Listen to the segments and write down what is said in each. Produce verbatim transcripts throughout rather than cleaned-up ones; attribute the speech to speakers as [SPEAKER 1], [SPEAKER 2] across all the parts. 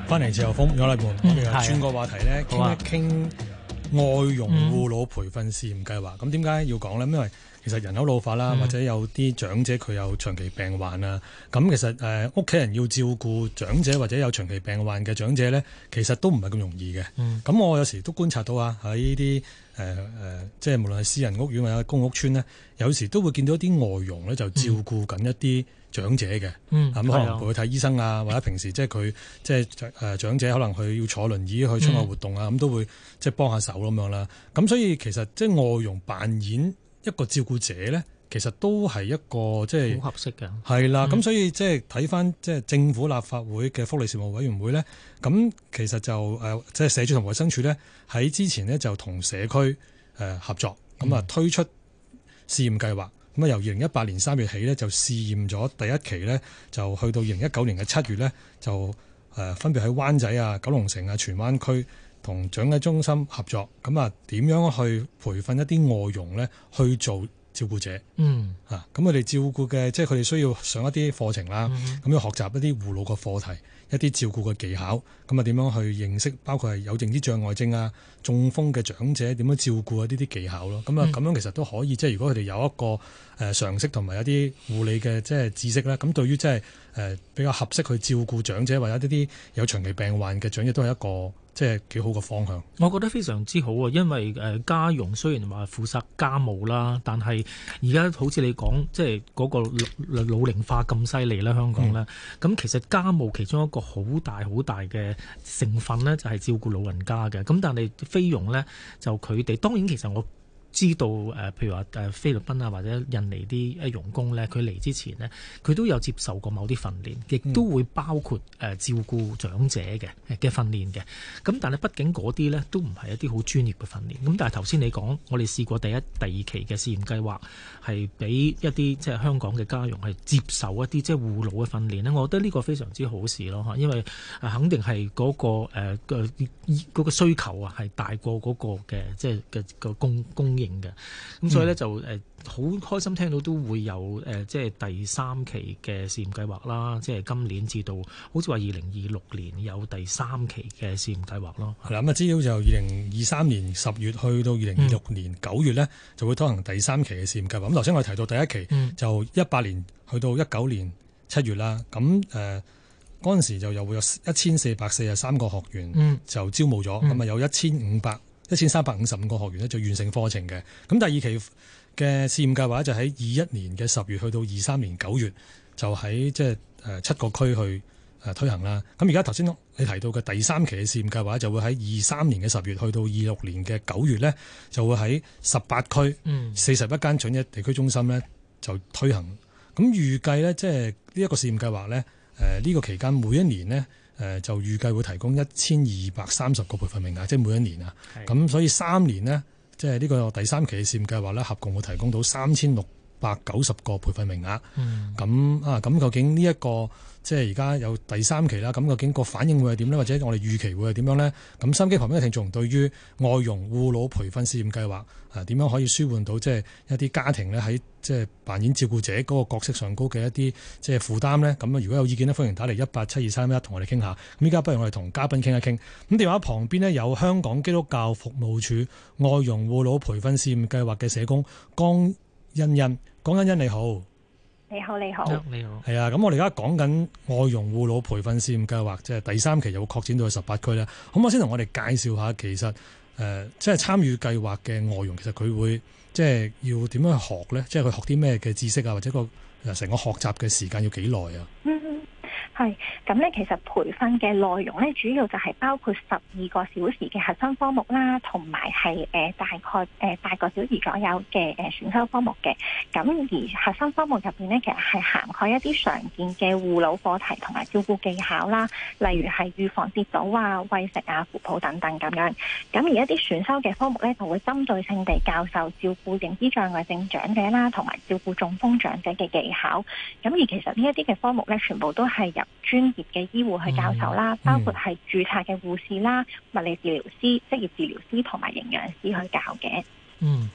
[SPEAKER 1] 翻嚟自由風，有禮門，我哋又轉個話題咧，傾、啊、一傾外傭護老培訓試驗計劃。咁點解要講咧？因為其實人口老化啦，嗯、或者有啲長者佢有長期病患啊。咁其實誒屋企人要照顧長者或者有長期病患嘅長者咧，其實都唔係咁容易嘅。咁、嗯、我有時都觀察到啊，喺呢啲誒誒，即係無論係私人屋苑或者公屋邨咧，有時都會見到一啲外傭咧，就照顧緊一啲長者嘅，咁、嗯、可能陪佢睇醫生啊，或者平時即係佢即係誒長者可能佢要坐輪椅去出外活動啊，咁、嗯、都會即係幫下手咁樣啦。咁所以其實即係外傭扮演一個照顧者咧，其實都係一個即係
[SPEAKER 2] 好合適嘅。
[SPEAKER 1] 係啦，咁、嗯、所以即係睇翻即係政府立法會嘅福利事務委員會咧，咁其實就誒即係社署同衛生署咧喺之前咧就同社區誒合作，咁啊推出試驗計劃。咁啊，由二零一八年三月起咧，就試驗咗第一期咧，就去到二零一九年嘅七月咧，就誒分別喺灣仔啊、九龍城啊、荃灣區同長者中心合作。咁啊，點樣去培訓一啲外傭咧去做照顧者？嗯，啊，咁佢哋照顧嘅，即係佢哋需要上一啲課程啦，咁、嗯、要學習一啲護老嘅課題，一啲照顧嘅技巧。咁啊，點樣去認識，包括係有認知障礙症啊、中風嘅長者點樣照顧啊？呢啲技巧咯。咁啊，咁樣其實都可以，即係如果佢哋有一個誒常識同埋一啲護理嘅即係知識咧，咁對於即係誒比較合適去照顧長者或者一啲有長期病患嘅長者，都係一個即係幾好嘅方向。
[SPEAKER 2] 我覺得非常之好啊，因為誒家傭雖然話負責家務啦，但係而家好似你講，即係嗰個老老齡化咁犀利啦，香港咧，咁、嗯、其實家務其中一個好大好大嘅成分咧，就係照顧老人家嘅。咁但係菲傭咧，就佢哋當然其實我知道誒，譬如話誒菲律賓啊或者印尼啲誒傭工咧，佢嚟之前呢，佢都有接受過某啲訓練，亦都會包括誒照顧長者嘅嘅訓練嘅。咁但係畢竟嗰啲咧都唔係一啲好專業嘅訓練。咁但係頭先你講，我哋試過第一、第二期嘅試驗計劃，係俾一啲即係香港嘅家傭係接受一啲即係護老嘅訓練咧。我覺得呢個非常之好事咯嚇，因為肯定係嗰個誒嘅嗰個需求啊係大過嗰個嘅即係嘅個供供應嘅，咁所以咧就誒好開心聽到都會有誒即係第三期嘅試驗計劃啦，即係今年至到好似話二零二六年有第三期嘅試驗計劃咯。
[SPEAKER 1] 係啦，咁啊資料就二零二三年十月去到二零二六年九月咧、嗯，就會推行第三期嘅試驗計劃。咁頭先我哋提到第一期、嗯、就一八年去到一九年七月啦，咁誒嗰陣時就又會有一千四百四十三個學員就招募咗，咁、嗯、啊有一千五百一千三百五十五個學員咧就完成課程嘅。咁第二期嘅試驗計劃就喺二一年嘅十月去到二三年九月，就喺即係誒七個區去誒推行啦。咁而家頭先你提到嘅第三期嘅試驗計劃就會喺二三年嘅十月去到二六年嘅九月咧，就會喺十八區四十一間長者地區中心咧就推行。咁預計咧即係呢一個試驗計劃咧，誒、這、呢個期間每一年咧。誒就預計會提供一千二百三十個培訓名額，即係每一年啊。咁所以三年呢，即係呢個第三期嘅試驗計劃咧，合共會提供到三千六百九十個培訓名額。咁、嗯、啊，咁究竟呢、這、一個即係而家有第三期啦，咁究竟個反應會係點呢？或者我哋預期會係點樣呢？咁收音機旁邊嘅聽眾對於外傭護老培訓試驗計劃啊，點樣可以舒緩到即係一啲家庭咧喺即係扮演照顧者嗰個角色上高嘅一啲即係負擔呢？咁啊，如果有意見呢，歡迎打嚟一八七二三一同我哋傾下。咁依家不如我哋同嘉賓傾一傾。咁電話旁邊呢，有香港基督教服務處外傭護老培訓試驗計劃嘅社工江欣欣，江欣欣你好。
[SPEAKER 3] 你好，你好，
[SPEAKER 2] 你好，
[SPEAKER 1] 係啊！咁我哋而家講緊外傭護老培訓試驗計劃，即係第三期又會擴展到去十八區咧。可唔可以先同我哋介紹下，其實誒、呃，即係參與計劃嘅外傭，其實佢會即係要點樣去學咧？即係佢學啲咩嘅知識啊，或者個成個學習嘅時間要幾耐啊？
[SPEAKER 3] 嗯係咁咧，其實培訓嘅內容咧，主要就係包括十二個小時嘅核心科目啦，同埋係誒大概誒八個小時左右嘅誒選修科目嘅。咁而核心科目入邊咧，其實係涵蓋一啲常見嘅護老課題同埋照顧技巧啦，例如係預防跌倒啊、餵食啊、扶抱等等咁樣。咁而一啲選修嘅科目咧，就會針對性地教授照顧認知障礙症長者啦，同埋照顧中風長者嘅技巧。咁而其實呢一啲嘅科目咧，全部都係由專業嘅醫護去教授啦，嗯、包括係註冊嘅護士啦、物理治療師、職業治療師同埋營養師去教嘅。
[SPEAKER 2] 嗯，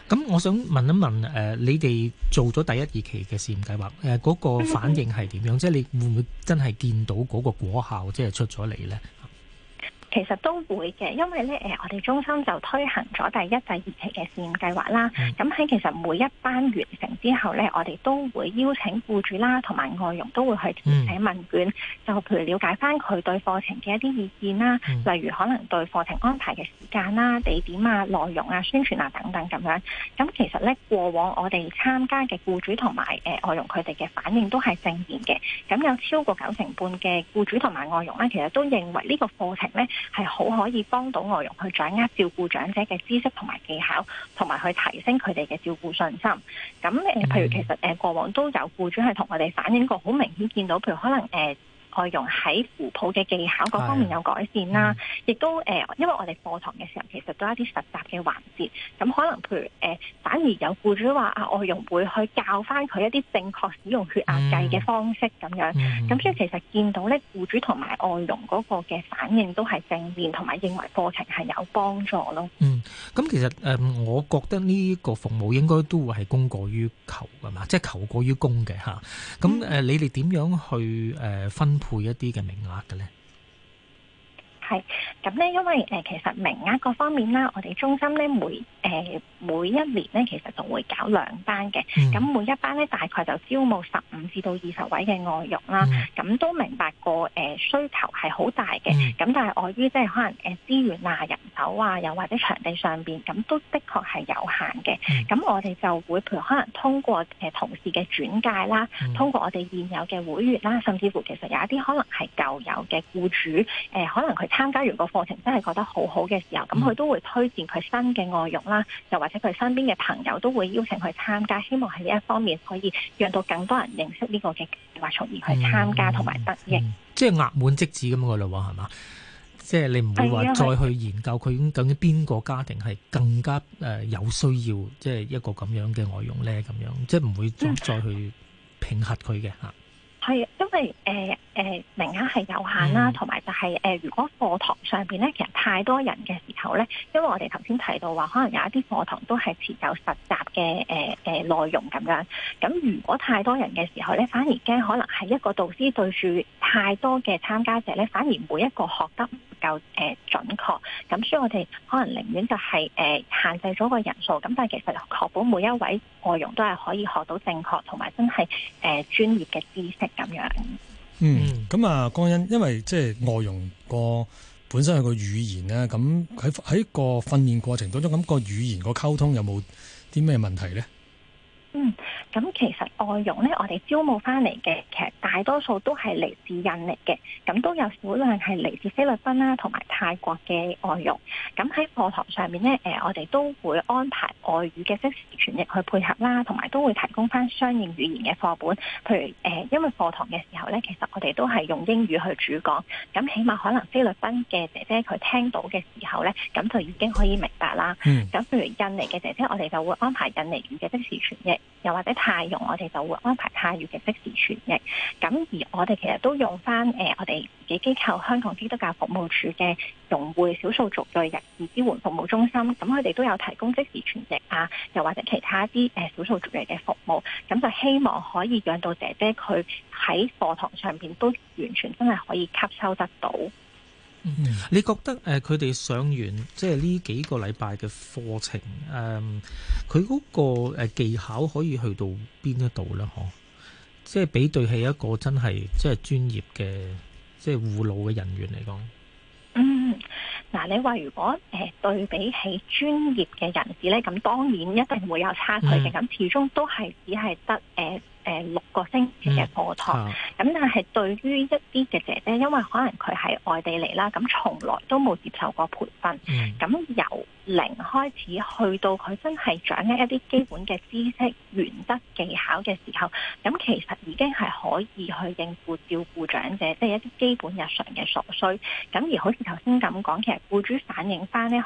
[SPEAKER 2] 咁我想問一問誒、呃，你哋做咗第一二期嘅試驗計劃，誒、呃、嗰、嗰個反應係點樣？嗯、即係你會唔會真係見到嗰個果效，即係出咗嚟咧？
[SPEAKER 3] 其實都會嘅，因為咧誒，我哋中心就推行咗第一、第二期嘅試驗計劃啦。咁喺、嗯、其實每一班完成之後咧，我哋都會邀請僱主啦，同埋外傭都會去填寫問卷，嗯、就譬如了解翻佢對課程嘅一啲意見啦，嗯、例如可能對課程安排嘅時間啦、地點啊、內容啊、宣傳啊等等咁樣。咁其實咧過往我哋參加嘅僱主同埋誒外傭佢哋嘅反應都係正面嘅。咁有超過九成半嘅僱主同埋外傭咧，其實都認為呢個課程咧，係好可以幫到外傭去掌握照顧長者嘅知識同埋技巧，同埋去提升佢哋嘅照顧信心。咁誒，譬如其實誒過往都有僱主係同我哋反映過，好明顯見到，譬如可能誒。呃外傭喺扶抱嘅技巧各方面有改善啦，亦、嗯、都誒、呃，因為我哋課堂嘅時候其實都有一啲實習嘅環節，咁可能譬如誒、呃，反而有僱主話啊，外傭會去教翻佢一啲正確使用血壓計嘅方式咁樣，咁、嗯嗯、所以其實見到咧，僱主同埋外傭嗰個嘅反應都係正面，同埋認為課程係有幫助咯。嗯，
[SPEAKER 2] 咁其實誒、呃，我覺得呢個服務應該都會係供過於求㗎嘛，即係求過於供嘅嚇。咁誒、呃，你哋點樣去誒、呃、分配一啲嘅名額嘅咧？
[SPEAKER 3] 係咁咧，因為誒、呃、其實名額各方面啦，我哋中心咧每誒、呃、每一年咧，其實就會搞兩班嘅。咁、嗯、每一班咧大概就招募十五至到二十位嘅外傭啦。咁、嗯、都明白個誒、呃、需求係好大嘅。咁、嗯、但係礙於即係可能誒資源啊、人手啊，又或者場地上邊，咁都的確係有限嘅。咁、嗯、我哋就會譬如可能通過誒、呃、同事嘅轉介啦，嗯、通過我哋現有嘅會員啦，甚至乎其實有一啲可能係舊有嘅僱主，誒、呃、可能佢參加完個課程真係覺得好好嘅時候，咁佢都會推薦佢新嘅外傭啦，又或者佢身邊嘅朋友都會邀請佢參加，希望喺呢一方面可以讓到更多人認識呢個嘅計劃，從而去參加同埋得益。
[SPEAKER 2] 嗯嗯、即係額滿即止咁嘅嘞喎，係嘛？即係你唔會話再去研究佢究竟邊個家庭係更加誒有需要，即係一個咁樣嘅外傭咧，咁樣即係唔會再再去評核佢嘅嚇。
[SPEAKER 3] 係、嗯，因為誒。呃誒、呃、名額係有限啦，同埋、嗯、就係、是、誒、呃，如果課堂上邊咧，其實太多人嘅時候咧，因為我哋頭先提到話，可能有一啲課堂都係持有實習嘅誒誒內容咁樣。咁如果太多人嘅時候咧，反而驚可能係一個導師對住太多嘅參加者咧，反而每一個學得唔夠誒準確。咁所以我哋可能寧願就係、是、誒、呃、限制咗個人數，咁但係其實確保每一位外傭都係可以學到正確同埋真係誒、呃、專業嘅知識咁樣。
[SPEAKER 1] 嗯，咁啊，江欣，因為即係外傭個本身有個語言咧，咁喺喺個訓練過程當中，咁個語言個溝通有冇啲咩問題咧？
[SPEAKER 3] 嗯，咁其實外傭咧，我哋招募翻嚟嘅，其實大多數都係嚟自印尼嘅，咁都有少量係嚟自菲律賓啦，同埋泰國嘅外傭。咁喺課堂上面咧，誒、呃，我哋都會安排外語嘅即時傳譯去配合啦，同埋都會提供翻相應語言嘅課本。譬如誒、呃，因為課堂嘅時候咧，其實我哋都係用英語去主講，咁起碼可能菲律賓嘅姐姐佢聽到嘅時候咧，咁就已經可以明白啦。嗯。咁譬如印尼嘅姐姐，我哋就會安排印尼語嘅即時傳譯。又或者泰傭，我哋就會安排泰語嘅即時傳譯。咁而我哋其實都用翻誒、呃，我哋自己機構香港基督教服務處嘅融匯少數族裔人士支援服務中心，咁佢哋都有提供即時傳譯啊，又或者其他一啲誒少數族裔嘅服務。咁就希望可以讓到姐姐佢喺課堂上邊都完全真係可以吸收得到。
[SPEAKER 2] 嗯、你覺得誒佢哋上完即係呢幾個禮拜嘅課程，誒佢嗰個誒技巧可以去到邊一度咧？嗬，即係比對起一個真係即係專業嘅即係護老嘅人員嚟講，嗯，
[SPEAKER 3] 嗱，你話如果誒、呃、對比起專業嘅人士咧，咁當然一定會有差距嘅，咁、嗯、始終都係只係得誒。呃誒六個星期嘅課堂，咁、嗯、但係對於一啲嘅姐姐，因為可能佢喺外地嚟啦，咁從來都冇接受過培訓，咁、嗯、由零開始去到佢真係掌握一啲基本嘅知識、原則、技巧嘅時候，咁其實已經係可以去應付照顧長者，即係一啲基本日常嘅所需。咁而好似頭先咁講，其實僱主反映翻咧，可能誒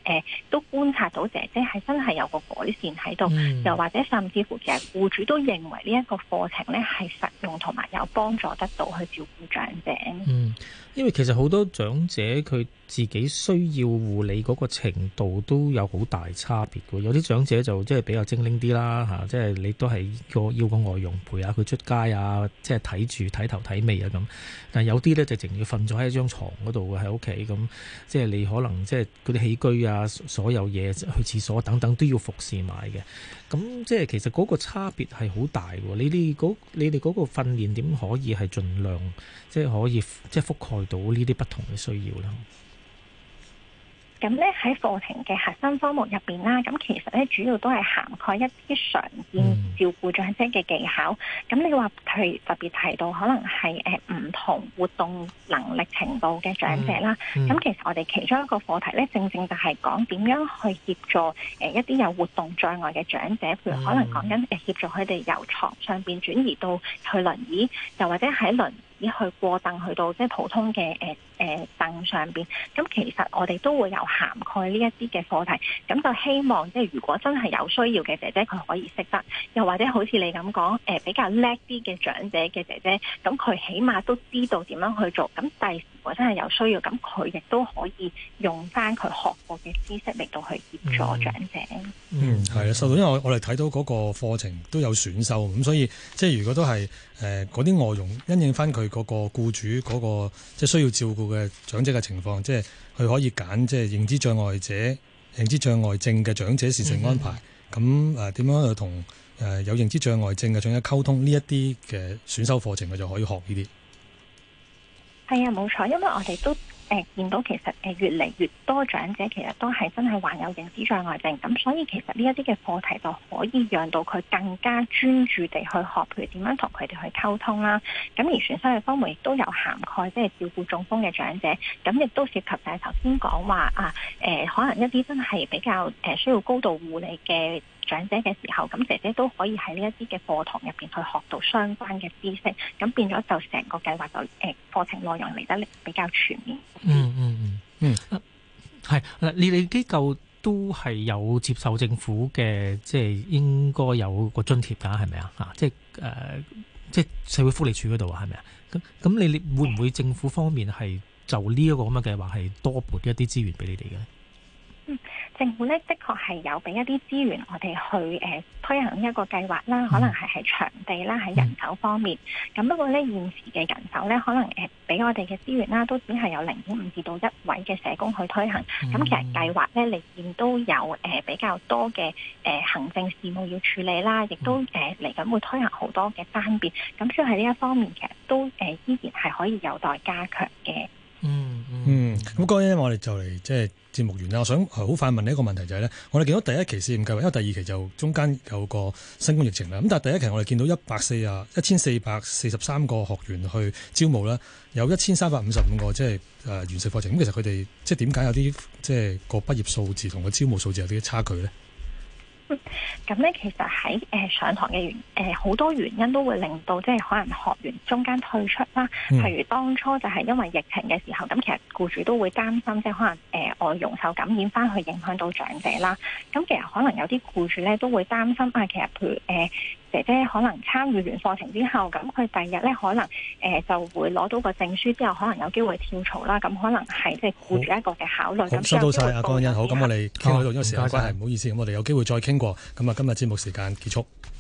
[SPEAKER 3] 誒都觀察到姐姐係真係有個改善喺度，
[SPEAKER 2] 嗯、
[SPEAKER 3] 又或者甚至乎其實僱主都認為呢一個課程咧係實用同埋有幫助得到去照顧長者。
[SPEAKER 2] 嗯，因為其實好多長者佢自己需要護理嗰個程度都有好大差別嘅，有啲長者就即係比較精靈啲啦嚇，即係你都係個要個外傭陪下佢出街啊，即係睇住睇頭睇尾啊咁。但係有啲咧就淨要瞓咗喺張床嗰度喺屋企咁，即係你可能即係嗰啲起居啊，所有嘢去廁所等等都要服侍埋嘅。咁即係其實嗰個差別係好大喎。你哋嗰你哋嗰個訓練點可以係盡量即係可以即係覆蓋到呢啲不同嘅需要啦？
[SPEAKER 3] 咁咧喺課程嘅核心科目入邊啦，咁其實咧主要都係涵蓋一啲常見照顧長者嘅技巧。咁、嗯、你話譬如特別提到可能係誒唔同活動能力程度嘅長者啦，咁、嗯嗯、其實我哋其中一個課題咧，正正就係講點樣去協助誒一啲有活動障礙嘅長者，譬如可能講緊誒協助佢哋由床上邊轉移到去輪椅，又或者喺輪去過凳去到即係普通嘅誒誒凳上邊，咁其實我哋都會有涵蓋呢一啲嘅課題，咁就希望即係如果真係有需要嘅姐姐佢可以識得，又或者好似你咁講誒比較叻啲嘅長者嘅姐姐，咁佢起碼都知道點樣去做，咁第時如果真係有需要，咁佢亦都可以用翻佢學過嘅知識嚟到去協助長者。
[SPEAKER 1] 嗯，係啊，受到因為我我哋睇到嗰個課程都有選修，咁所以即係如果都係誒嗰啲外傭因應翻佢嗰個僱主嗰個即係需要照顧嘅長者嘅情況，即係佢可以揀即係認知障礙者、認知障礙症嘅長者事情安排。咁誒點樣去同誒有認知障礙症嘅長者溝通呢一啲嘅選修課程，佢就可以學呢啲。
[SPEAKER 3] 係啊，冇錯，因為我哋都誒、呃、見到其實誒越嚟越多長者其實都係真係患有認知障礙症，咁所以其實呢一啲嘅課題就可以讓到佢更加專注地去學，譬如點樣同佢哋去溝通啦。咁而選修嘅科目亦都有涵蓋即係照顧中風嘅長者，咁亦都涉及就係頭先講話啊誒、呃，可能一啲真係比較誒需要高度護理嘅長者嘅時候，咁姐姐都可以喺呢一啲嘅課堂入邊去學到相關嘅知識，咁變咗就成個計劃就誒課程內容嚟得比較全面。
[SPEAKER 2] 嗯嗯嗯嗯，係嗱，你哋機構都係有接受政府嘅，即係應該有個津貼㗎，係咪啊？嚇，即係誒，即係社會福利署嗰度係咪啊？咁咁，你你會唔會政府方面係就呢一個咁嘅計劃係多撥一啲資源俾你哋嘅？
[SPEAKER 3] 嗯，政府咧的確係有俾一啲資源我哋去誒、呃、推行一個計劃啦，可能係喺場地啦，喺人手方面。咁、嗯、不過咧現時嘅人手咧，可能誒俾、呃、我哋嘅資源啦，都只係有零點五至到一位嘅社工去推行。咁、嗯、其實計劃咧，裏面都有誒、呃、比較多嘅誒、呃、行政事務要處理啦，亦都誒嚟緊會推行好多嘅單變。咁所以喺呢一方面，其實都誒、呃、依然係可以有待加強嘅。
[SPEAKER 2] 嗯
[SPEAKER 1] 嗯，咁嗰日我哋就嚟即係節目完啦。我想好快問你一個問題就係、是、咧，我哋見到第一期試驗計劃，因為第二期就中間有個新冠疫情啦。咁但係第一期我哋見到一百四啊一千四百四十三個學員去招募啦，有一千三百五十五個即係誒完成課程。咁其實佢哋即係點解有啲即係個畢業數字同個招募數字有啲差距咧？
[SPEAKER 3] 咁咧、嗯，其實喺誒、呃、上堂嘅原誒好多原因都會令到即係可能學員中間退出啦。
[SPEAKER 1] 嗯、
[SPEAKER 3] 譬如當初就係因為疫情嘅時候，咁其實僱主都會擔心，即係可能誒、呃、外傭受感染翻去影響到長者啦。咁其實可能有啲僱主咧都會擔心啊，其實譬如誒。呃姐姐可能參與完課程之後，咁佢第二日咧可能誒、呃、就會攞到個證書之後，可能有機會跳槽啦。咁可能係即係顧住一個嘅考慮。咁
[SPEAKER 1] 收到晒阿江欣，好，咁我哋傾到呢度，因為時間關係，唔好意思，咁我哋有機會再傾過。咁啊，今日節目時間結束。